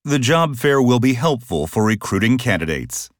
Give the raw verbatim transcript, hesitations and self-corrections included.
The job fair will be helpful for recruiting candidates.